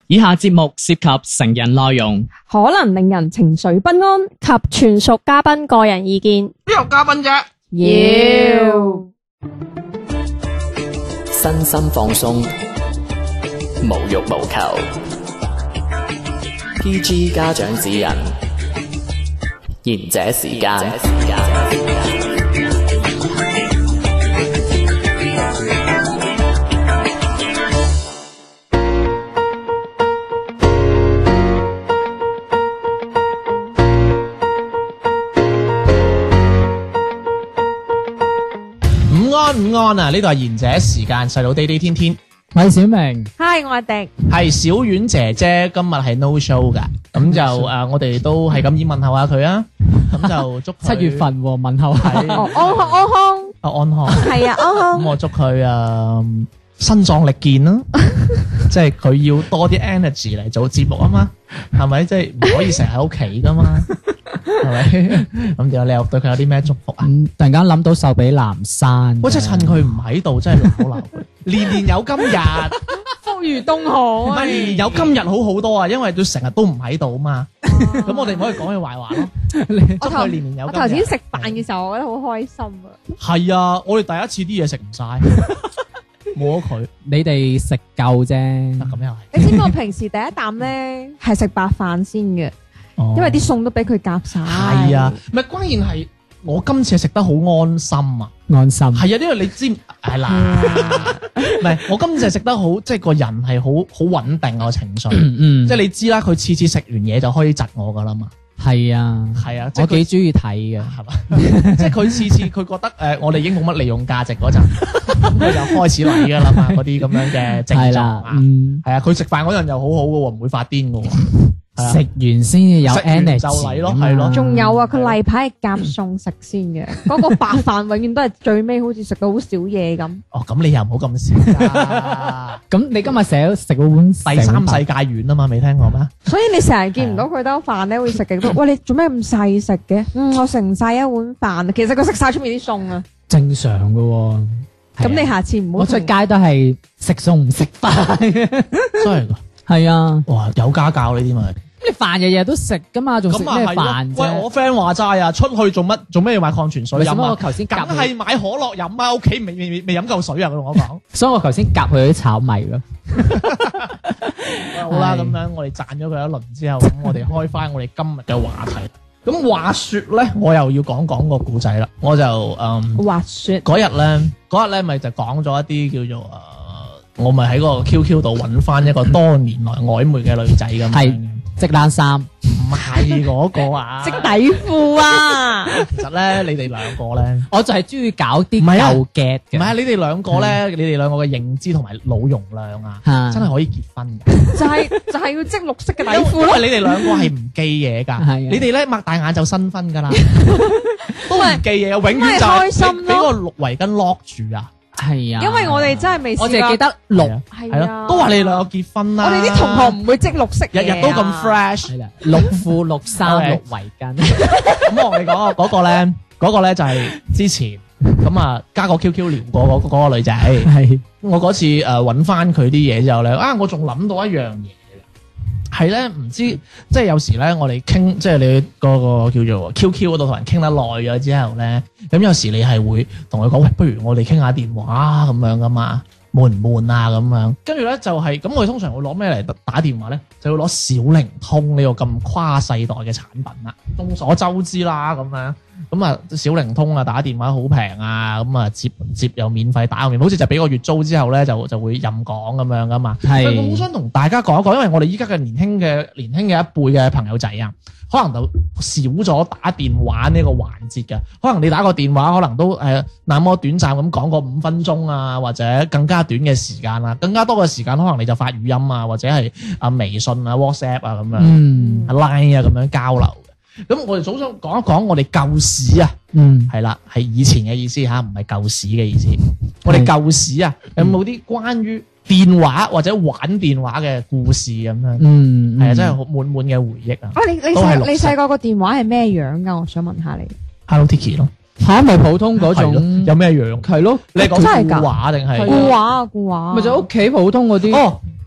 以下節目涉及成人內容， 可能令人情緒不安及全屬嘉賓個人意見。 邊有嘉賓啫？ 要身心放鬆，無欲無求。PG 家長指引，賢者時間。 午安啊！呢度係賢者時間，細佬地地天天， 我係小明， 嗨，我係迪， 係小婉姐姐，今日係 no show 噶，咁就我哋都係咁意問候下佢啊，咁就祝佢 7月份問候係安康， 安康， 係啊，安康。 咁我祝佢身壯力健啦，即係佢要多啲 energy 嚟做節目啊嘛，係咪？即係唔可以成日喺屋企噶嘛，係咪？咁點啊？你又對佢有啲咩祝福啊？ 突然間諗到壽比南山， 我真係趁佢唔喺度，真係鬧佢，年年有今日， 福如東河啊！ 年年有今日好多啊，因為佢成日都唔喺度啊嘛，咁我哋唔可以講佢壞話咯。祝佢年年有今日。 我頭先食飯嘅時候，我覺得好開心啊！ 係啊，我哋第一次啲嘢食唔晒，冇咗佢。 你哋食夠啫， 咁又係。 你知唔知我平時第一啖咧係食白飯先嘅，因為啲餸都俾佢夾晒。 係啊，唔係關鍵係我今次係食得好安心啊！ 安心係啊，因為你知係啦，唔係我今次係食得好，即係個人係好穩定我情緒，即係你知啦，佢次次食完嘢就可以窒我噶啦嘛。 係啊， 係啊， 我幾中意睇嘅， 係嘛？即係佢次次佢覺得我哋已經冇乜利用價值嗰陣，咁佢就開始嚟噶啦嘛，嗰啲咁樣嘅症狀啊，係啊，佢食飯嗰陣又好好嘅喎，唔會發癲嘅喎。 食完先至有 energy 就嚟咯，係咯。 仲有啊，佢例牌係夾餸食先嘅，嗰個白飯永遠都係最尾，好似食到好少嘢咁。 哦，咁你又唔好咁少啦。 咁你今日食嗰碗第三世界丸啊嘛，未聽過咩？ 所以你成日見唔到佢兜飯咧，會食極多。喂，你做咩咁細食嘅？我食唔晒一碗飯，其實佢食晒出面啲餸啊。 正常嘅喎。 咁你下次唔好。 我出街都係食餸唔食飯嘅。 真係㗎。 係啊。 哇，有家教呢啲咪？ 你飯日日都食噶嘛，仲食咩飯啫？ 喂，我 friend 話齋啊，出去做乜要買礦泉水飲啊？ 我頭先梗係買可樂飲啊！屋企未飲夠水啊！佢同我講。 所以我頭先夾佢啲炒米咯。 好啦，咁樣我哋讚咗佢一輪之後，咁我哋開翻我哋今日嘅話題。咁話說咧，我又要講個故仔啦。我就話說嗰日咧咪就講咗一啲叫做我咪喺個 QQ 度揾翻一個多年來曖昧嘅女仔咁樣。 織冷衫， 唔係嗰個啊， 織底褲啊。 其實咧，你哋兩個咧， 我就係中意搞啲舊嘅。唔係啊，你哋兩個咧，你哋兩個嘅認知同埋腦容量啊，真係可以結婚嘅。 就係要織綠色嘅底褲咯。 因為你哋兩個係唔記嘢㗎，你哋咧擘大眼就新婚㗎啦，都唔記嘢，永遠就係俾個綠圍巾 lock 住啊。 係啊， 因為我哋真係未試過， 我淨係記得綠， 係咯， 都話你哋兩個結婚啦。 我哋啲同學唔會織綠色嘢， 日日都咁 fresh， 綠褲、綠衫、綠圍巾。 咁我同你講嗰個咧就係之前咁加個 QQ 聊過嗰個女仔。係我嗰次揾翻佢啲嘢之後咧，我仲諗到一樣嘢。係咧，唔知即係有時咧，我哋傾即係你嗰個叫做 QQ 嗰度同人傾得耐咗之後咧，咁有時你係會同佢講，喂，不如我哋傾下電話咁樣噶嘛，悶唔悶啊咁樣？跟住咧就係咁，我哋通常會攞咩嚟打電話咧？就會攞小靈通呢個咁跨世代嘅產品啦。眾所周知啦，咁樣小靈通打電話好平啊，接又免費，打又免費，好似就俾個月租之後咧就會任講咁樣噶嘛。係，我好想同大家講一講，因為我哋依家嘅年輕嘅一輩嘅朋友仔啊，可能就少咗打電話呢個環節嘅。可能你打個電話，可能都那麼短暫咁講個5分鐘啊，或者更加短嘅時間啦，更加多嘅時間可能你就發語音啊，或者係微信啊、WhatsApp 啊咁樣，Line 啊咁樣交流。咁我哋早想講一講我哋舊史啊，係啦，係以前嘅意思吓，唔係舊史嘅意思。我哋舊史啊，有冇啲關於電話或者玩電話嘅故事咁樣？係啊，真係好滿嘅回憶啊！ 你細個個電話係咩樣噶？我想問下你。 Hello Tiki 咯， 吓咪普通嗰種， 有咩樣？ 係咯， 你係講固話定係？ 固話， 咪就屋企普通嗰啲。 哦，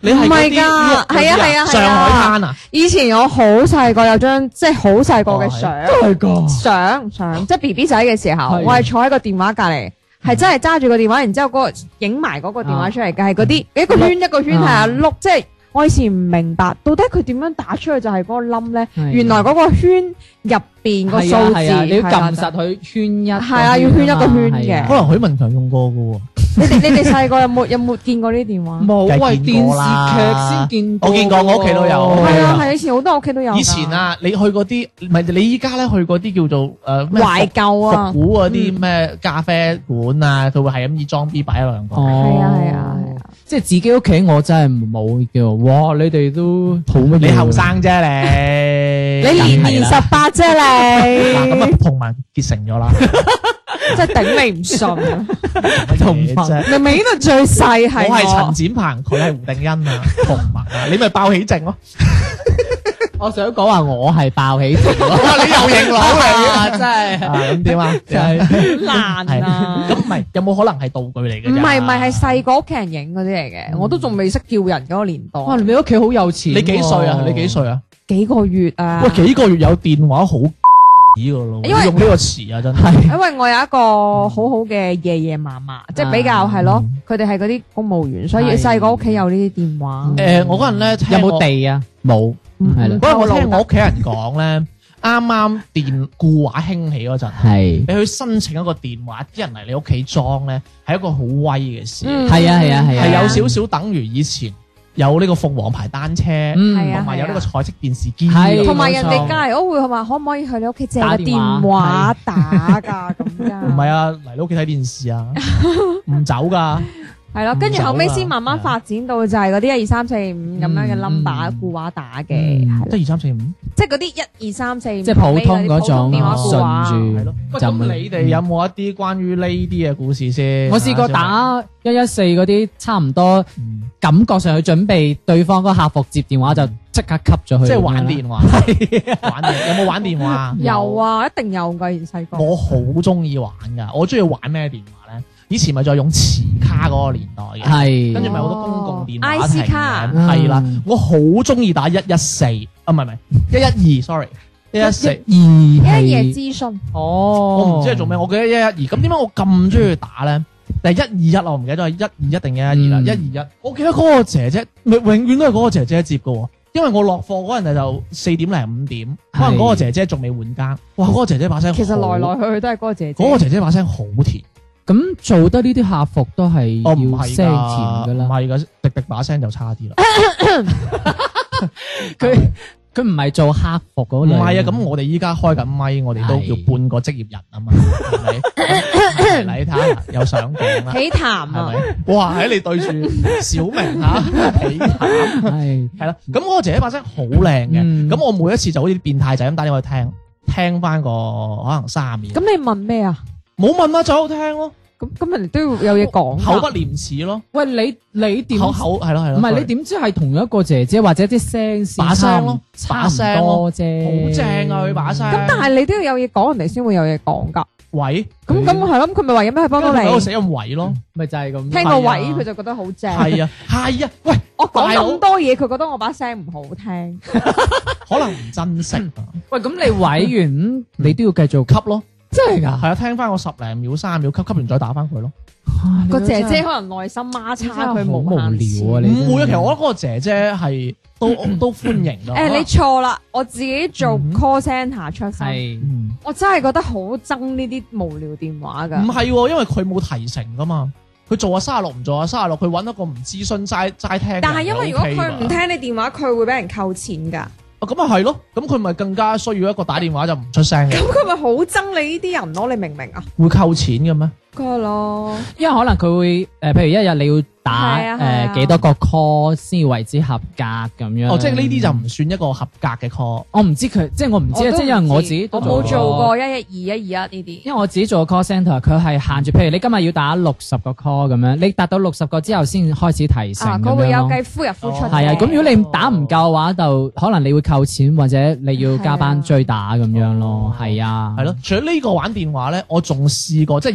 你係嗰唔係㗎啲係係啊係啊係啊上海灘啊， 以前我好細個有張即係好細個嘅相， 係噶， 相即係 B B 仔嘅時候， 係我係坐喺個電話隔離，係真係揸住個電話，然之後嗰個影埋嗰個電話出嚟嘅，係嗰啲一個圈一個圈係啊碌，即係我以前唔明白到底佢點樣打出去就係嗰個冧咧，原來嗰個圈入邊個數字你要撳實佢圈一， 係啊，要圈一個圈嘅。 可能許文強用過嘅喎。 你哋細個有冇見過呢啲電話？ 冇， 梗係喂， 見過啦電視劇先見過， 我見過，我屋企都有。 係啊係，以前好多屋企都有㗎。 以前啊，你去嗰啲，唔係你依家咧去嗰啲叫做咩懷舊啊復古嗰啲咩咖啡館啊，佢會係咁以裝 B 擺一兩個。 哦， 係啊係啊係啊， 即係自己屋企我真係冇叫，哇！你哋都好乜嘢？ 你後生啫你， 你年18啫嗱咁啊你， 同盟結成咗啦， 真係頂你唔順啊！ 同盟啫。 明明呢度最細係我係陳展鵬，佢係胡定欣啊，同盟啊，你咪爆起症咯。 我想講話我係爆起症咯， 你又認佬嚟啊！真係啊？咁點啊？ 真係好難啊！ 咁唔係有冇可能係道具嚟嘅？ 唔係係細個屋企人影嗰啲嚟嘅，我都仲未識叫人嗰個年代。 哇！你屋企好有錢喎， 你幾歲啊？你幾歲啊？ 幾個月啊？ 喂，幾個月有電話好㗎咯， 因為用呢個詞啊，真係。 係因為我有一個好好嘅爺爺嫲嫲，即係比較係咯，佢哋係嗰啲公務員，所以係細個屋企有呢啲電話。 我嗰陣咧有冇地啊？冇，係啦， 嗰陣我聽我屋企人講咧，啱啱電固話興起嗰陣， 係你去申請一個電話，啲人嚟你屋企裝咧，係一個好威嘅事， 係啊係啊係啊， 係有少少等於以前有呢個鳳凰牌單車， 係啊同埋有呢個彩色電視機， 係同埋人哋冇錯隔離屋會話可唔可以去你屋企借個打電話電話打㗎咁㗎？ 唔係啊，嚟你屋企睇電視啊，唔走㗎。 係咯，跟住後尾先慢慢發展到就係嗰啲1、2、3、4、5咁樣嘅 number 固話打嘅，係即係2、3、4、5， 即係嗰啲1、2、3、4， 即係普通嗰種電話固話。 順住係咯。喂咁你哋有冇一啲關於呢啲嘅故事先？ 我試過打114嗰啲，差唔多感覺上去準備對方嗰個客服接電話就即刻吸咗佢， 即係玩電話，玩電有冇玩電話？ 有啊，一定有㗎，以前細個。 我好中意玩㗎，我中意玩咩電話咧？以前咪再用磁卡嗰個年代嘅， 係跟住咪好多公共電話 IC 卡亭嘅係啦，我好中意打114啊，唔係112 sorry，114。 112 一夜資訊， 哦， 我唔知係做咩，我記得112。咁點解我咁中意打咧？但係121我唔記得咗係121定112啦。121，我記得嗰個姐姐，永遠都係嗰個姐姐接嘅喎。因為我落課嗰陣就4點零5點，可能嗰個姐姐仲未換更。哇！嗰個姐姐把聲好， 其實來來去去都係嗰個姐姐。 嗰個姐姐把聲好甜。 咁做得呢啲客服都係哦，唔係要聲甜㗎啦。 唔係㗎，迪迪把聲就差啲啦。 佢唔係做客服嗰類。 唔係啊，咁我哋依家開緊咪，我哋都叫半個職業人啊嘛，係咪？嚟睇下有上鏡啦， 喜談係啊， 咪？哇！喺你對住小明嚇，幾慘係係啦。咁嗰個姐姐把聲好靚嘅，咁我每一次就好似啲變態仔咁打電話去聽翻個可能30秒。 咁你問咩啊？ 冇問啦，就喺度聽咯， 咁人哋都要有嘢講㗎。 口不廉恥咯， 喂，你點？ 口係咯係咯， 唔係你點知係同一個姐姐或者啲聲線把聲咯差唔多啫， 好正啊佢把聲。 咁但係你都要有嘢講，人哋先會有嘢講㗎。 喂， 咁係咯，咁佢咪話有咩可以幫到你喺？度寫咁位咯， 咪就係咁。 聽個位佢就覺得好正。 係啊係啊，喂， 我講大佬咁多嘢，佢覺得我把聲唔好聽。 可能唔珍惜啊， 喂，咁你委完你都要繼續吸咯。 真係㗎？ 係啊，聽翻我10零秒、30秒，吸完再打翻佢咯。 個姐姐可能內心孖叉，佢好無聊啊！ 無限次。 你唔會啊，其實我覺得嗰個姐姐係都歡迎咯。 誒，你錯啦！我自己做嗯 call center 出身， 係我真係覺得好憎呢啲無聊電話㗎。 唔係喎，因為佢冇提成噶嘛，佢做下36唔做下36，佢揾一個唔諮詢齋聽。 但係因為如果佢唔聽你電話，佢會俾人扣錢㗎。 咁啊係咯，咁佢咪更加需要一個打電話就唔出聲嘅， 咁佢咪好憎你呢啲人咯？你明唔明啊？ 會扣錢嘅咩？ 佢咯， 因為可能佢會譬如一日你要打係啊幾多個 call 先要為之合格咁樣。 哦，即係呢啲就唔算一個合格嘅 call。 我唔知佢，即係我唔知啊，即係因為我自己都我冇做過112、121呢啲。 因為我自己做 call centre，佢係限住，譬如你今日要打60個 call 咁樣，你達到60個之後先開始提成咁樣咯。 佢會有計呼入呼出嘅。 係啊，咁如果你打唔夠嘅話，就可能你會扣錢或者你要加班追打咁樣咯。係啊， 係咯，除咗呢個玩電話咧，我仲試過，即係以前咧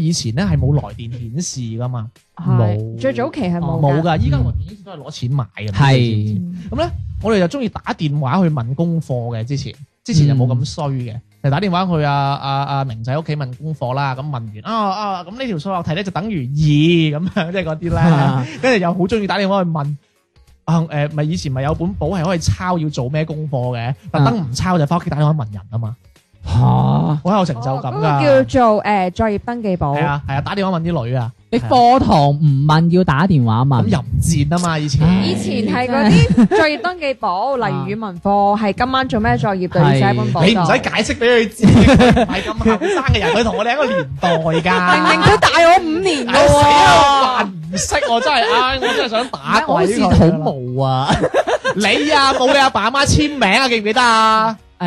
係冇來電顯示噶嘛， 係最早期係冇冇㗎，依家來電顯示都係攞錢買嘅。 係咁咧，我哋就中意打電話去問功課嘅，之前就冇咁衰嘅，就打電話去阿明仔屋企問功課啦。咁問完咁呢條數學題咧就等於2咁樣，即係嗰啲咧，跟住又好中意打電話去問。咪以前咪有本簿係可以抄要做咩功課嘅，特登唔抄就翻屋企打電話問人啊嘛。 嚇， 好有成就感㗎。 嗰個叫做作業登記簿。 係啊，打電話問啲女啊。 你課堂唔問要打電話問， 咁淫賤啊嘛！以前以前係嗰啲作業登記簿，例如語文課係今晚做咩作業，就要寫喺本簿度。 你唔使解釋俾佢知，唔係咁後生嘅人，佢同我哋一個年代㗎。 明明佢大我5年㗎死喎。 啊！唔識我真係，我真係想打鬼好似佢。 好無啊！ 你啊，冇你阿爸阿媽簽名啊，記唔記得啊？ 你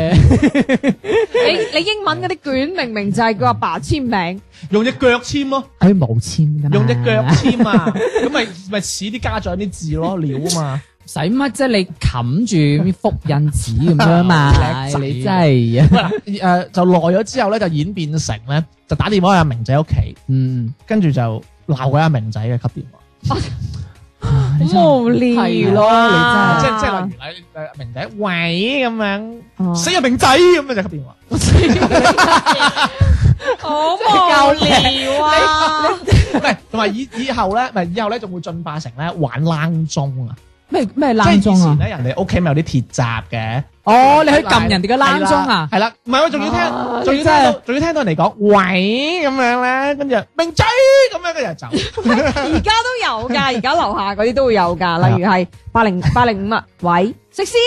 英文嗰啲卷明明就係佢阿爸簽名， 用隻腳簽咯， 佢冇簽㗎嘛， 用隻腳簽啊，咁咪似啲家長啲字咯，料啊嘛。 使乜啫？你冚住啲複印紙咁樣嘛？ 叻仔你真係啊！ 就耐咗之後咧，就演變成咧，就打電話去阿明仔屋企，跟住就鬧鬼阿明仔嘅，吸電話。 好無聊咯， 即係例如明仔喂咁樣，死啊明仔咁樣就吸電話。 好無聊啊！ 唔係，同埋以後咧仲會進化成咧玩冷鐘啊！ 咩冷鐘啊？ 即係以前咧，人哋屋企咪有啲鐵閘嘅。 哦，你去撳人哋嘅冷鐘啊？ 係啦，唔係我仲要聽到人哋講喂咁樣咧，跟住明仔咁樣跟住就走。 而家都有㗎，而家樓下嗰啲都會有㗎，例如係805啊，喂，食屎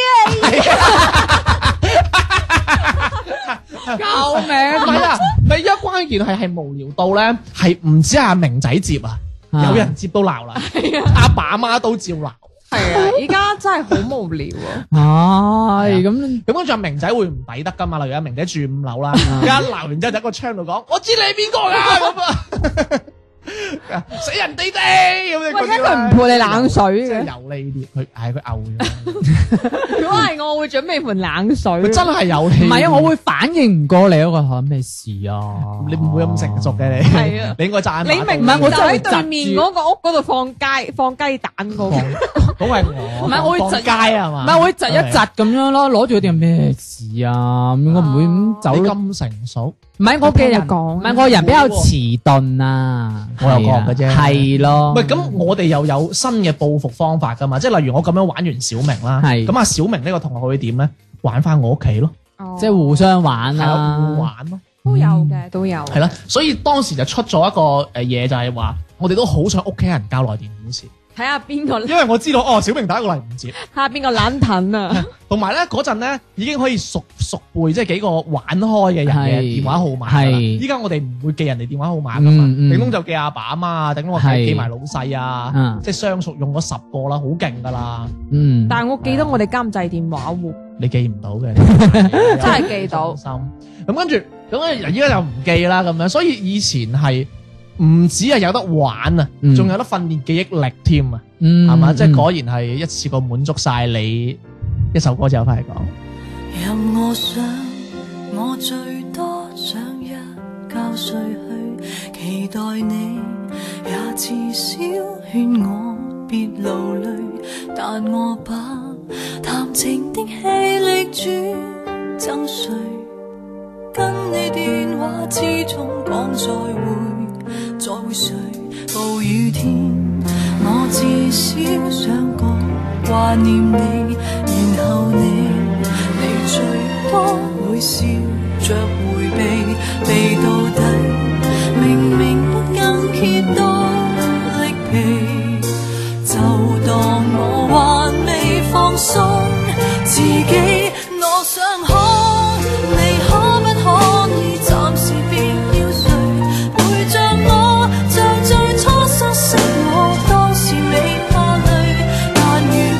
救命！ 唔係啊，咪而家關鍵係無聊到咧，係唔止阿明仔接啊，有人接都鬧啦，阿爸阿媽都照鬧。 係啊，而家真係好無聊啊！ 唉，咁跟住阿明仔會唔抵得噶嘛？例如阿明仔住5樓啦，一鬧完之後就喺個窗度講：我知你係邊個㗎咁啊！死人哋咁樣。 喂，點解佢唔潑你冷水嘅？ 即係有呢啲，佢嘔咗。 如果係我會準備盆冷水。 佢真係有氣。 唔係啊，我會反應唔過你嗰個嚇咩事啊？ 你唔會咁成熟嘅你。 係啊， 你應該揸。 你明唔明？我就喺對面嗰個屋嗰度放雞蛋嗰個。 嗰係我。 唔係我會窒街啊嘛。 唔係我會窒一窒咁樣咯，攞住嗰啲咩事啊？咁我唔會咁走。 你咁成熟？ 唔係我嘅人講， 唔係我人比較遲鈍啊。 我又講嘅啫。 係咯。 唔係咁，我哋又有新嘅報復方法㗎嘛？即係例如我咁樣玩完小明啦，咁啊小明呢個同學會點咧？玩翻我屋企咯， 即係互相玩啊， 互玩咯， 都有嘅，都有。 係啦，所以當時就出咗一個嘢，就係話我哋都好想屋企人交來電顯示， 睇下邊個， 因為我知道小明打過嚟唔接， 睇下邊個懶騰啊。 同埋咧嗰陣咧已經可以熟背即係幾個玩開嘅人嘅電話號碼。係，依家我哋唔會記人哋電話號碼噶嘛，頂多就記阿爸阿媽啊，頂多我記埋老細啊，即係相熟用咗10個啦，好勁噶啦。 但係我記得我哋監製電話喎， 你記唔到嘅， 真係記到。 咁跟住咁依家就唔記啦咁樣，所以以前係唔止係有得玩啊，仲有得訓練記憶力添啊，係嘛？即係果然係一次過滿足晒你。一首歌之後翻嚟講。 任我想，我最多想一覺睡去，期待你也至少勸我別流淚，但我把談情的氣力轉贈誰？跟你電話之中講再會誰？暴雨天，我至少想講掛念你，然後你最多會笑着迴避到底，明明不更揭多力疲，就當我還未放鬆自己。我想你可不可以暫時別要睡，陪着我像最初相識我當時未怕累，但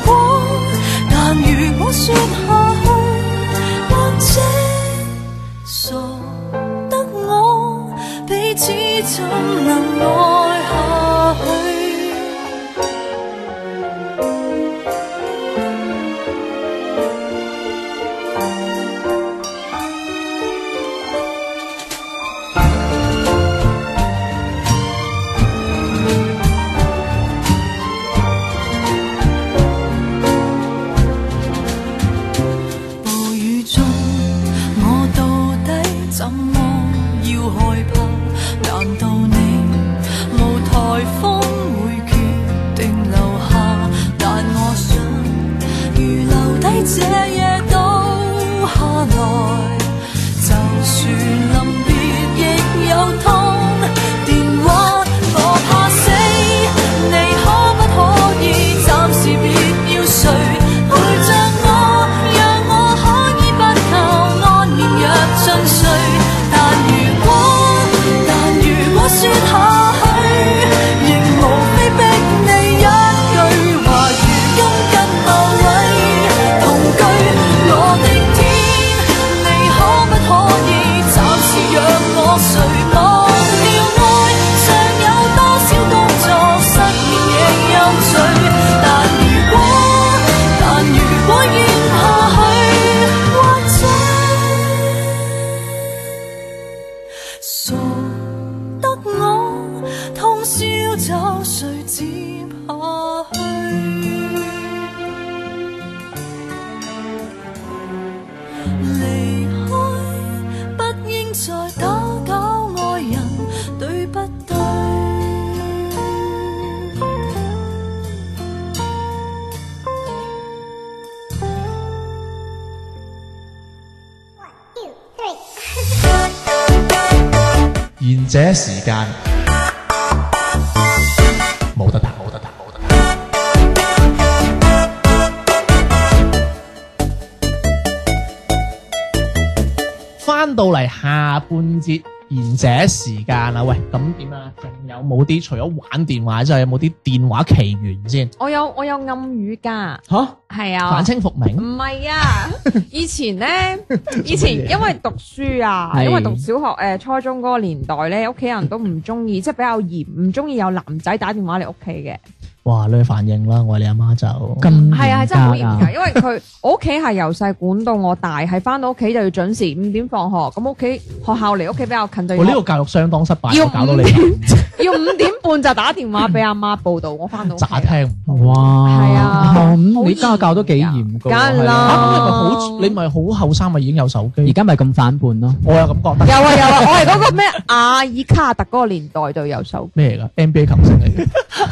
如我說下去，或者傻得我彼此怎能愛下去。 這夜倒下來，就算臨別亦有痛。電話我怕死，你可不可以暫時別要睡，陪着我，讓我可以不靠安眠藥進睡。但如果說下去，亦無非逼你一句話，如今跟某位同居，我的天，你可不可以暫時讓我睡？忘掉愛，尚有多少工作，失眠亦有罪。但如果咽下去，或者傻得我通宵找誰接下去？離開不應再打攪愛人，對不對？ 賢者時間冇得彈，冇得彈，冇得彈。翻到嚟下半節賢者時間啦，喂，咁點啊？仲有冇啲除咗玩電話之後，有冇啲電話奇緣先？ 我有暗語㗎， 吓， 係啊， 反清復明？ 唔係啊，以前因為讀書啊， 係因為讀小學初中嗰個年代咧，屋企人都唔中意，即係比較嚴，唔中意有男仔打電話嚟屋企嘅。 哇！你去反應啦，我哋阿媽就咁係啊，係真係好嚴嚴格，因為我屋企係由細管到我大，係翻到屋企就要準時5點放學，咁屋企學校離屋企比較近就要我呢個教育相當失敗， 要我搞到你要5點半就打電話俾阿媽報道，我翻到屋企渣聽唔到。 哇， 係啊咁好你家教都幾嚴噶喎， 梗係啦係你咪好後生咪已經有手機？ 而家咪咁反叛咯。 我有咁覺得。 有啊，我係嗰個咩阿爾卡特嗰個年代就有手機。 咩嚟㗎？NBA 球星嚟嘅，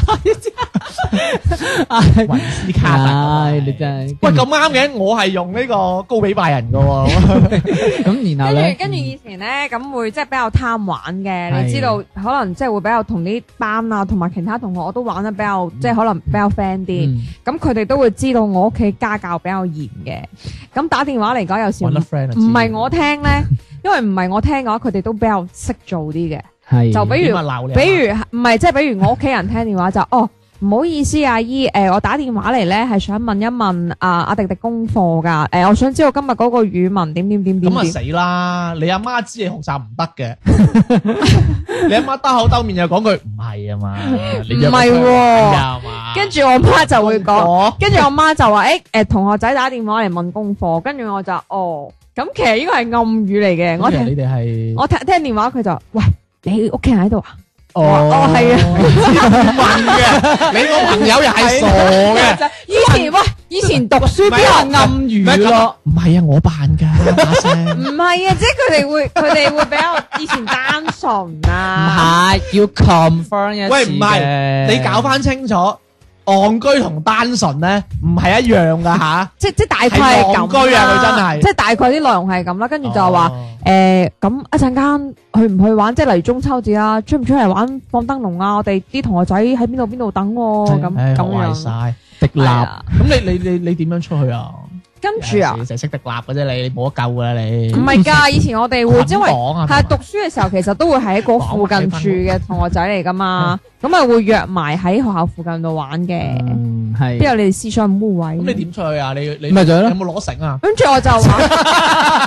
雲斯卡特。 唉，你真係喂，咁啱嘅，我係用呢個高比拜仁㗎喎。 咁，然後咧， 跟住以前咧，咁會即係比較貪玩嘅， 係你知道可能即係會比較同啲班啊，同埋其他同學我都玩得比較即係可能比較 friend 啲。 嗯咁佢哋都會知道我屋企家教比較嚴嘅。咁打電話嚟講有時揾得 friend 啊唔係我聽咧，因為唔係我聽嘅話，佢哋都比較識做啲嘅。 係就比如點啊鬧你啊比如唔係即係比如我屋企人聽電話就唔好意思阿姨，我打電話嚟咧係想問一問阿迪迪功課㗎，我想知道今日嗰個語文點咁啊死啦！你阿媽知你學習唔得嘅，你阿媽兜口兜面又講句唔係啊嘛，你約唔係喎啊嘛， 跟住我媽就會講， 我跟住我媽就話同學仔打電話嚟問功課，跟住我就咁其實呢個係暗語嚟嘅，我聽你哋係我聽電話佢就喂，你屋企人喺度啊？ 哦係啊， 問嘅，你個朋友又係傻嘅。 以前讀書邊有暗語咯？ 唔係啊，我扮㗎把聲。 唔係啊，即係佢哋會比較以前單純唔啊。 係要 confirm 一次喂，唔係嘅你搞翻清楚，戇居同單純咧唔係一樣㗎吓。 即大概係咁啦係戇居啊佢真係即係大概啲內容係咁啦，跟住就話咁一陣間去唔去玩，即係例如中秋節啊，出唔出嚟玩放燈籠啊？我哋啲同學仔喺邊度等喎，咁壞樣。 晒迪立。 係啊咁你點樣出去啊？ 跟住啊， 成日識迪立嘅啫，你冇得救㗎啦你。 唔係㗎，以前我哋會因為捆綁啊係讀書嘅時候，其實都會喺嗰附近住嘅同學仔嚟㗎嘛，咁啊會約埋喺學校附近度玩嘅。 係邊有你哋思想污位？ 咁你點出去啊？你咪就係咯有冇攞繩啊？ 跟住我就話。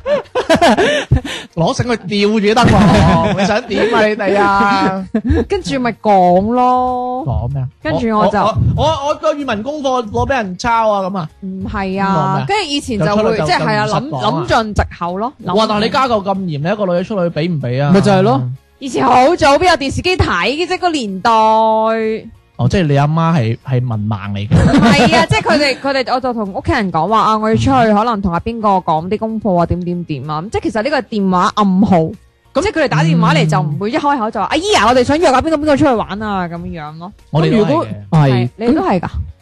攞繩去吊住得喎，你想點啊你哋啊？ 跟住咪講咯， 講咩啊？ 跟住我就我個語文功課攞俾人抄啊咁啊！ 唔係咁講咩， 啊跟住以前就會就即係係啊就唔實講啊諗盡藉口咯。 哇！但係你家教咁嚴，你一個女仔出去俾唔俾啊？ 咪就係咯。 以前好早邊有電視機睇嘅啫，個年代。 哦，即係你阿媽係文盲嚟嘅。 唔係啊，即係佢哋，我就同屋企人講話我要出去，可能同阿邊個講啲功課啊，點啊，即係其實呢個係電話暗號，即係佢哋打電話嚟就唔會一開口就話阿姨啊，我哋想約阿邊個出去玩啊咁樣咯。 我哋如果係係你都係㗎，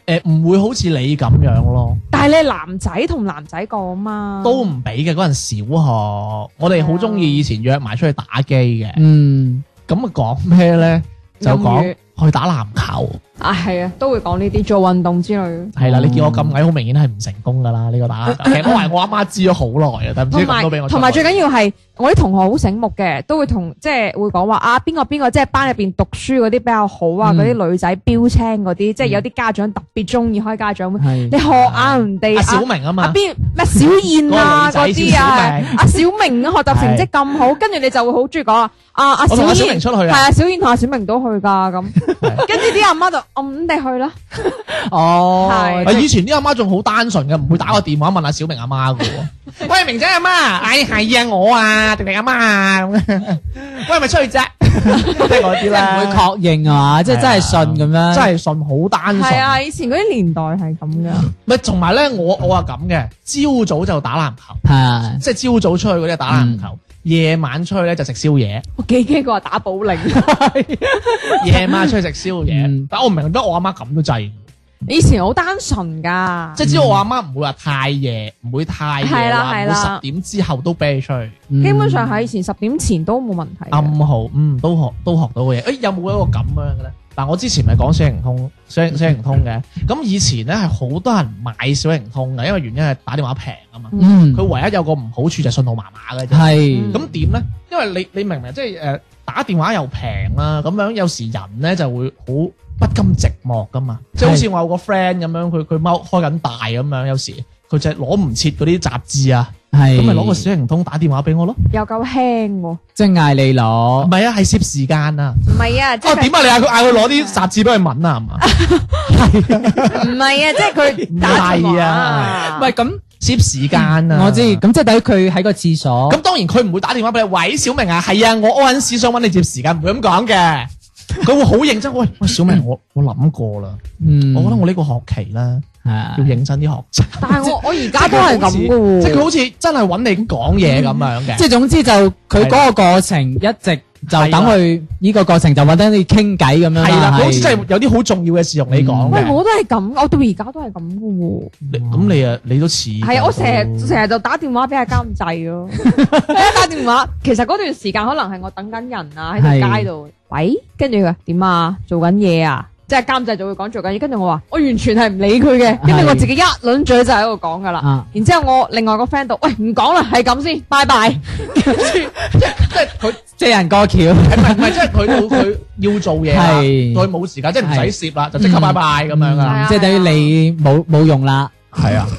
唔會好似你咁樣咯， 但係你係男仔同男仔講嘛， 都唔俾嘅。嗰陣小學，我哋好中意以前約埋出去打機嘅。咁啊講咩咧？就講去打籃球。 啊，係啊，都會講呢啲做運動之類。 係啦，你見我咁矮，好明顯係唔成功噶啦。呢個打籃球，其實我話我阿媽知咗好耐啊，但唔知咁都俾我。 同埋最緊要係我啲同學好醒目嘅，都會同即係會講話啊邊個即係班入邊讀書嗰啲比較好啊，嗰啲女仔標青嗰啲，即係有啲家長特別中意開家長會。你學下人哋阿小明啊嘛， 邊咩小燕啊嗰啲啊，阿小明學習成績咁好，跟住你就會好中意講啊阿小燕出去啊， 係啊，小燕同阿小明都去噶咁，跟住啲阿媽就咁地去啦。 哦，係以前啲阿媽仲好單純嘅，唔會打個電話問阿小明阿媽嘅。喂，明仔阿媽，哎係啊，我啊，定阿媽啊，喂，係咪出去啫？即係嗰啲咧， 唔會確認啊嘛，即係真係信咁樣， 真係信，好單純。 係啊，以前嗰啲年代係咁嘅。 咪同埋咧，我話咁嘅，朝早就打籃球， 係啊， 即係朝早出去嗰啲打籃球，夜晚出去咧就食宵夜。 我幾驚佢話打保齡， 夜晚出去食宵夜，但我唔明得我阿媽咁都制。 以前好單純噶， 即係只要我阿媽唔會話太夜，唔會太夜話，唔會10點之後都俾你出去。 基本上喺以前10點前都冇問題。 暗號，都學到嘅嘢。有冇一個咁樣嘅咧？嗱，我之前咪講小靈通嘅，咁以前咧係好多人買小靈通嘅，因為原因係打電話平啊嘛。佢唯一有個唔好處就係信號麻麻嘅啫。係。咁點咧？因為你明唔明？即係打電話又平啦，咁樣有時人咧就會好不甘寂寞噶嘛，即係好似我有個 friend 咁樣，佢踎開緊大咁樣，有時佢就係攞唔切嗰啲雜誌啊，咁咪攞個小靈通打電話俾我咯， 又夠輕喎， 即係嗌你攞， 唔係啊，係攝時間啊， 唔係啊， 哦點啊，你嗌佢攞啲雜誌俾佢揾啊，係嘛？ 唔係啊，即係佢打電話， 唔係咁攝時間啊， 我知，咁即係等於佢喺個廁所， 咁當然佢唔會打電話俾你，喂小明啊，係啊，我屙緊屎想揾你接時間，唔會咁講嘅。佢會好認真，喂小明，我諗過啦，我覺得我呢個學期咧要認真啲學習。 但係我而家都係咁嘅喎， 即係佢好似真係揾你講嘢咁樣嘅。 即係總之就佢嗰個過程一直就等佢呢個過程就揾得你傾偈咁樣。係啦， 好似真係有啲好重要嘅事同你講。 喂，我都係咁，我到而家都係咁嘅喎。 咁你都似係啊，我成日就打電話俾阿監製咯。打電話，其實嗰段時間可能係我等緊人啊，喺條街度。喂，跟住佢點啊？做緊嘢啊？即係監製就會講做緊嘢，跟住我話我完全係唔理佢嘅，跟住我自己一輪嘴就喺度講噶啦。然之後我另外個 friend 度，喂唔講啦，係咁先，拜拜。跟住即係佢借人過橋， 唔係即係佢要做嘢啦，佢冇時間，即係唔使攝啦，就即刻拜拜咁樣啊， 即係等於你冇用啦。 係啊，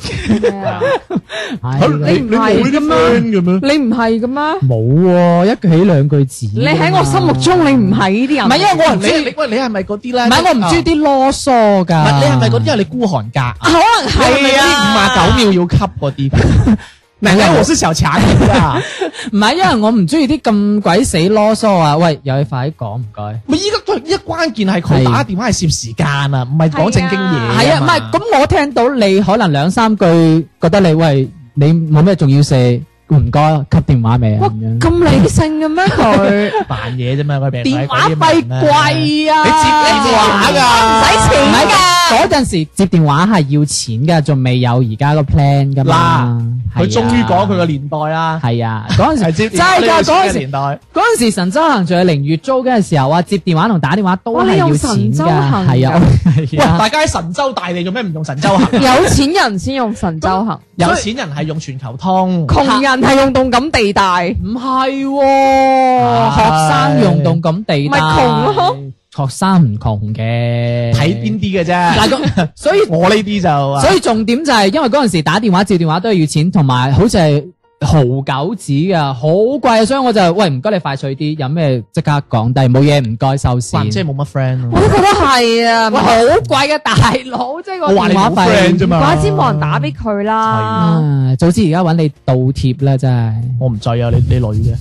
你唔係嘅咩？你唔係嘅咩？ 冇，一句起兩句止。 你喺我心目中你唔係呢啲人。 唔係因為我唔中意， 喂你係咪嗰啲咧？ 唔係我唔中意啲囉嗦噶。 唔係你係咪嗰啲？因為你孤寒格， 可能係啊，59秒要吸嗰啲。明明我是小強啊！ 唔係，因為我唔中意啲咁鬼死囉嗦啊！喂，有你快啲講唔該。 咪依家關鍵係佢打電話係攝時間啊，唔係講正經嘢。 係啊，唔係咁我聽到你可能2-3句，覺得你喂你冇咩重要事，唔該吸電話未啊？ 咁理性嘅咩佢？ 扮嘢啫嘛，佢俾電話費貴啊！ 你接電話㗎， 唔使錢㗎。 嗰陣時接電話係要錢㗎，仲未有而家個 plan 㗎嘛。 佢終於講佢個年代啦。 係啊，嗰陣時接真係㗎，嗰陣時年代。 嗰陣時神州行仲有0月租嘅時候啊，接電話同打電話都係要錢㗎。係啊， 喂，大家喺神州大地做咩唔用神州行？ 有錢人先用神州行， 有錢人係用全球通， 窮人係用動感地帶。 唔係喎，學生用動感地帶， 咪窮咯。 學生唔窮嘅， 睇邊啲嘅啫。 嗱，所以我呢啲就， 所以重點就係因為嗰陣時打電話接電話都係要錢，同埋好似係毫九紙噶，好貴啊！所以我就喂唔該你快脆啲，有咩即刻講低，冇嘢唔該收線。 即係冇乜 friend 咯。 我都覺得係啊， 好貴嘅大佬，即係個電話費啫嘛。 唔怪之冇人打俾佢啦。 早知而家揾你倒貼啦，真係。 我唔制啊，你女嘅。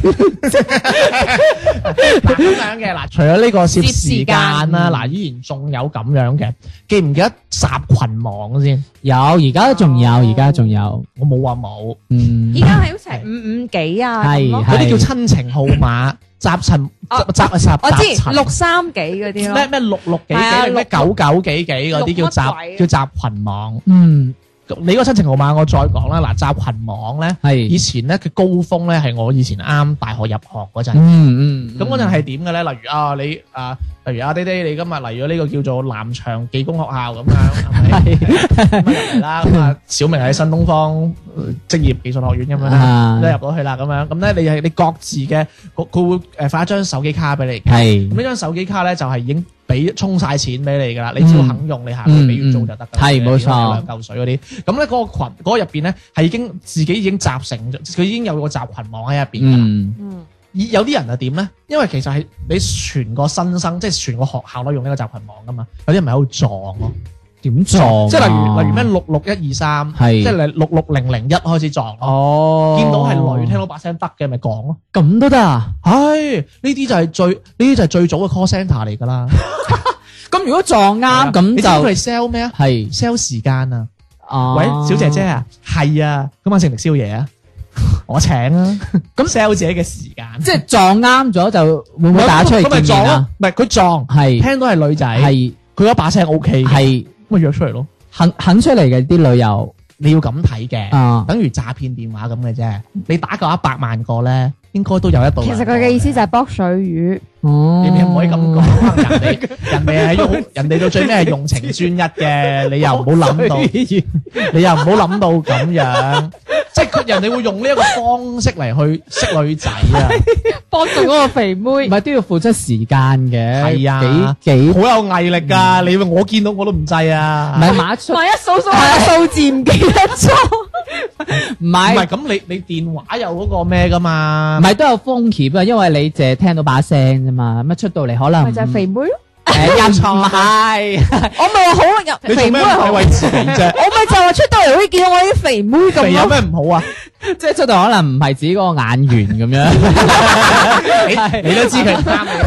嗱咁樣嘅嗱，除咗呢個攝時間啦，嗱依然仲有咁樣嘅，記唔記得集群網先？ 有，而家仲有，而家仲有。 我冇話冇， 依家係好似係55幾啊， 係嗰啲叫親情號碼。 集塵我知6-3幾嗰啲咯， 咩6幾係啊幾咩9幾幾嗰啲六叫乜鬼集群網。 嗯， 你個親情號碼我再講啦，嗱集群網咧， 係以前咧嘅高峰咧係我以前啱大學入學嗰陣。咁嗰陣係點嘅咧？例如啊，例如爹哋，你今日嚟咗呢個叫做南翔技工學校咁樣，係咪？咁入嚟啦，咁啊，小明喺新東方職業技術學院咁樣啦，都入到去啦，咁樣，咁咧你各自嘅，佢會發一張手機卡俾你嘅， 係咁呢張手機卡咧就係已經充晒錢俾你噶啦，你只要肯用，你下個月俾月租就得噶啦， 係冇錯 2嚿水嗰啲，咁咧嗰個群嗰個入邊咧係自己已經集成咗，佢已經有個集群網喺入邊噶啦。有啲人係點咧？因為其實係你全個新生，即係全個學校都用呢個集群網噶嘛。有啲人咪喺度撞咯， 點撞？ 即係例如咩66123， 係即係你66001開始撞。 哦， 見到係女，聽到把聲得嘅咪講咯。 咁都得啊？ 係呢啲就係最早嘅 call centre 嚟㗎啦。 咁如果撞啱咁就你知佢係 sell 咩啊？ 係 sell 時間啊！ 哦， 喂，小姐姐啊，係啊，今晚食唔食宵夜啊？我請啊！咁 sell 自己嘅時間， 即係撞啱咗就會唔會打出去見面啊？ 唔係佢撞， 係聽到係女仔， 係佢嗰把聲 OK， 係咁咪約出嚟咯。 肯出嚟嘅啲旅遊你要咁睇嘅， 啊， 等於詐騙電話咁嘅啫。你打夠100萬個咧，應該都有一度。 其實佢嘅意思就係卜水魚。 哦， 你唔可以咁講，人哋係用人哋到最尾係用情專一嘅，你又唔好諗到，你又唔好諗到咁樣，即係人哋會用呢一個方式嚟去識女仔啊， 幫助嗰個肥妹， 唔係都要付出時間嘅， 係啊， 幾好有毅力㗎。你我見到我都唔制啊， 唔係馬出， 萬一數下數字唔記得咗， 唔係唔係咁你電話有嗰個咩㗎嘛？ 唔係都有風險啊，因為你淨係聽到把聲啫嘛，乜出到嚟可能咪就係肥妹咯。 又唔係， 我咪話好入你做咩唔肥妹係好， 係為自己啫？ 我咪就話出到嚟好似見到我啲肥妹咁肥有咯。 咩唔好啊？ 即係出到可能唔係自己嗰個眼緣咁樣， 你都知佢唔啱你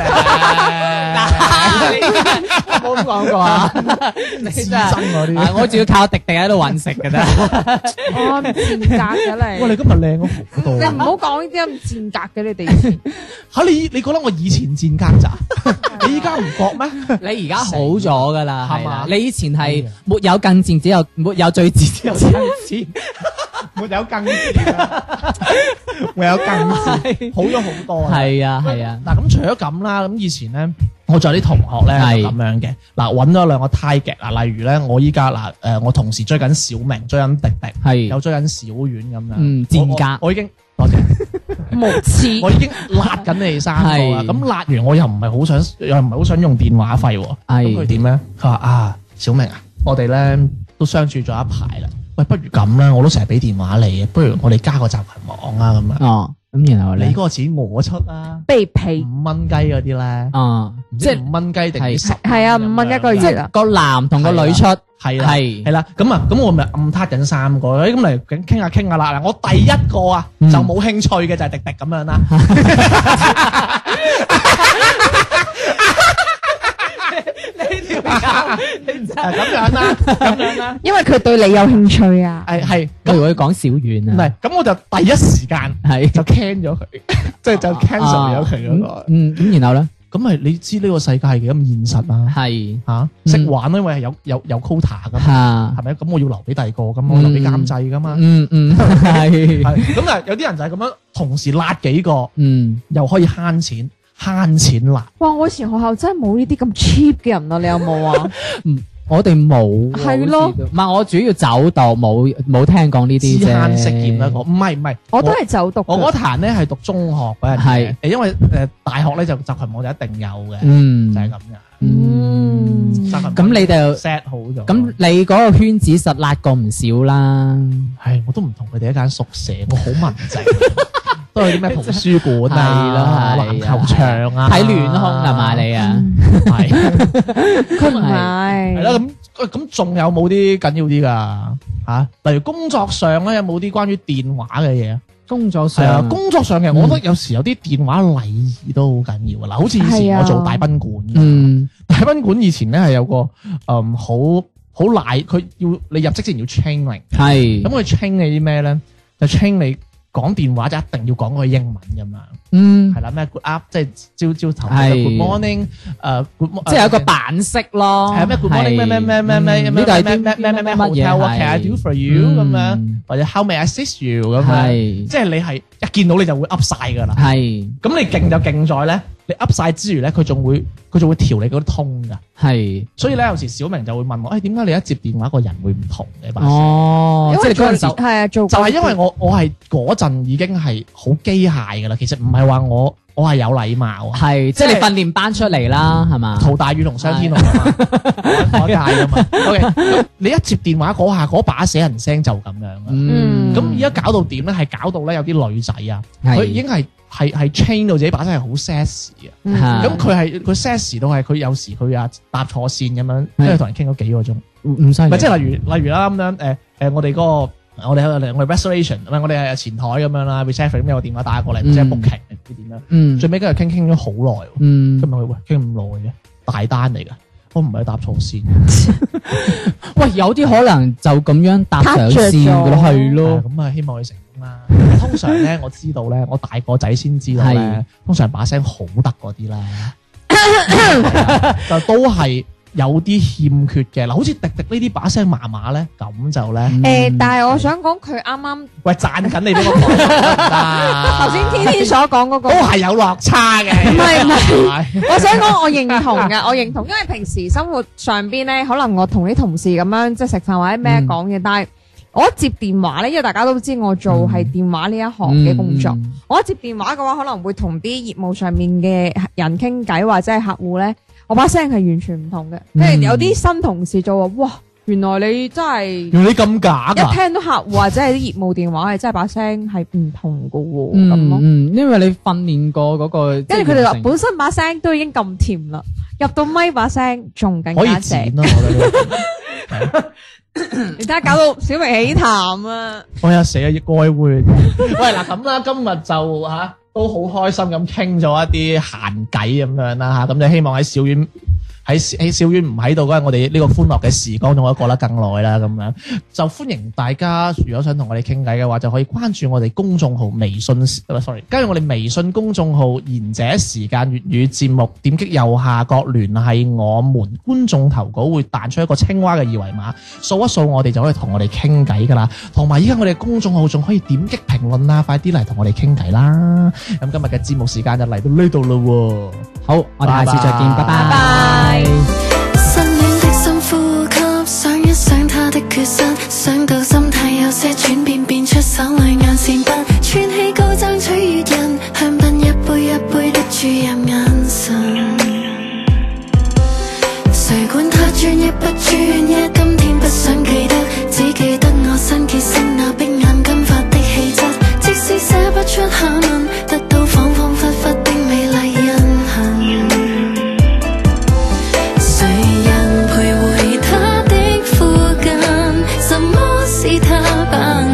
嘅， 冇咁講過啊！你真真係嗰啲。 我仲要靠迪迪喺度揾食嘅啫。 我咁賤格嘅哇！ 你， 你今日靚咗好多你唔好講呢啲咁賤格嘅你哋。 嚇你覺得我以前賤格咋？你依家唔覺咩？ 你而家好咗噶啦， 係嘛係嘛？你以前係沒有更賤，只有沒有最賤，只有更賤。 沒有更賤啊！沒有更賤，好咗好多啊！ 係啊係啊， 嗱，咁除咗咁啦，咁以前咧，我仲有啲同學咧係就咁樣嘅。嗱，揾咗兩個太極啊，例如咧，我依家我同時追緊小明，追緊迪迪， 係有追緊小丸咁樣。 賤格我已經多謝。 無恥， 我已經辣緊你哋三個啦， 係咁辣完我又唔係好想用電話費喎， 係咁佢點咧？佢話啊，小明啊，我哋咧都相處咗一排啦，喂，不如咁啦，我都成日俾電話你，不如我哋加個集群網啊咁樣。 哦，咁然後咧你嗰，個錢我出啦卑鄙。 ，5蚊雞嗰啲咧， 哦，即係即係5蚊雞定係 10 係啊5蚊一個月即係個男同個女出， 係啦， 係係啦，咁我咪暗撻緊三個，咁嚟傾下啦。嗱，我第一個啊就冇興趣嘅就係迪迪咁樣啦。咁樣啦， 因為佢對你有興趣啊。 係不如我講小遠啊， 唔係咁我就第一時間係就 can 咗佢，即係就 cancel 咗佢嗰個。 咁然後咧咁咪你知呢個世界係幾咁現實啊？ 係嚇識玩，因為係有 quota 噶嘛， 嚇， 係咪？咁我要留俾第二個，咁我留俾監製噶嘛。 係係咁但係有啲人就係咁樣同時辣幾個， 嗯。 又可以慳錢辣。 哇！我以前學校真係冇呢啲咁 cheap 嘅人啊，你有冇啊？ 我哋冇喎， 係咯好似都唔係我主要走讀，冇聽講呢啲知啫。 慳識儉啦，唔係， 我都係走讀㗎。 我嗰壇咧係讀中學嗰陣係嘅，因為大學咧就集群網就一定有嘅， 嗯就係咁嘅。 嗯集群網咁你就 set 好咗。 咁你嗰個圈子實辣過唔少啦。 係我都唔同佢哋一間宿舍，我好文靜，都係啲咩圖書館啊、籃係咯球場啊， 睇亂空係嘛你啊？ 係佢唔係係啦，咁仲有冇啲緊要啲噶嚇？例如工作上咧，有冇啲關於電話嘅嘢啊？ 工作係啊， 上工作上嘅，我覺得有時有啲電話禮儀都好緊要啊！嗱，好似以前我做大賓館，大賓館以前咧係有個好賴，佢要你入職之前要 training， 係咁佢 train 你啲咩咧？就 train 你講電話就一定要講佢英文咁樣， 嗯係啦咩 good up 即係朝頭嘅 good morning， 即係有一個版式咯， 係啊咩 good morning 咩呢個係啲咩 hotel what can I do for you 咁樣，或者 how may I assist you 咁樣，即係你係一見到你就會 up 晒㗎啦。係，咁你勁就勁在咧，你 up 晒之餘咧，佢仲會調你嗰啲通㗎。係，所以咧有時小明就會問我，點解你一接電話個人會唔同嘅把聲？哦，即係嗰陣時係啊，就係因為我係嗰陣已經係好機械㗎啦。其實唔係話我係有禮貌，係即係你訓練班出嚟啦，係嘛？陶大宇同商天龍啊嘛，我界㗎嘛。OK， 你一接電話嗰下嗰把死人聲就咁樣啊。咁而家搞到點咧？係搞到咧有啲女仔啊，佢已經係 train 到自己把聲係好 sexy 啊。咁佢 sexy 到係佢有時佢搭錯線咁樣，跟住同人傾咗幾個鐘，唔犀利。即係例如啦咁樣我哋嗰個。我哋 reservation， 我哋係前台咁樣啦 ，reception 咁有個電話打過嚟，即係 booking 唔知點樣。最尾跟住傾咗好耐，咁咪喂傾咁耐嘅大單嚟噶，我唔係搭錯線。喂，有啲可能就咁樣搭上線噶咯，係咯。咁啊，希望佢成功啦。通常咧，我知道咧，我大個仔先知道咧，通常把聲好得嗰啲啦，就都係。有啲欠缺嘅嗱，好似迪迪呢啲把聲麻麻咧，咁就咧但係我想講佢啱啱喂讚緊你俾我講頭先天天所講嗰個都係有落差嘅， 唔係，我想講我認同嘅，我認同，因為平時生活上邊咧，可能我同啲同事咁樣即係食飯或者咩講嘢，但係我一接電話咧，因為大家都知我做係電話呢一行嘅工作，我一接電話嘅話，可能會同啲業務上面嘅人傾偈或者係客戶咧。我把聲係完全唔同嘅，跟住有啲新同事就話：哇，原來你真係， 原來你咁假㗎！ 一聽到客戶或者係啲業務電話係真係把聲係唔同㗎喎，咁咯。 因為你訓練過嗰個，跟住佢哋話本身把聲都已經咁甜啦，入到咪把聲仲更加正。可以剪咯，你睇下搞到小明起痰啊！ 我有死啊，該會。喂嗱咁啦，今日就都好開心咁傾咗一啲閒偈咁樣啦嚇，咁就希望喺小丸唔喺度嗰陣，我哋呢個歡樂嘅時光仲可以過得更耐啦咁樣。就歡迎大家，如果想同我哋傾偈嘅話，就可以關注我哋公眾號微信加入我哋微信公眾號賢者時間粵語節目，點擊右下角聯繫我們，觀眾投稿會彈出一個青蛙嘅二維碼，掃一掃我哋就可以同我哋傾偈噶啦。同埋依家我哋公眾號仲可以點擊評論啦，快啲嚟同我哋傾偈啦。咁今日嘅節目時間就嚟到呢度咯喎。好，我哋下次再見，拜拜。 新戀的深呼吸，想一想他的缺失，想到心態有些轉變，變出手裏眼線筆，串起高爭取悅人，香檳一杯一杯的注入眼神。誰管他專一不專一，今天不想記得，只記得我新結識那碧眼金髮的氣質，即使寫不出下文，得到恍恍惚惚的美麗印痕。誰人徘徊他的附近？什麼是他扮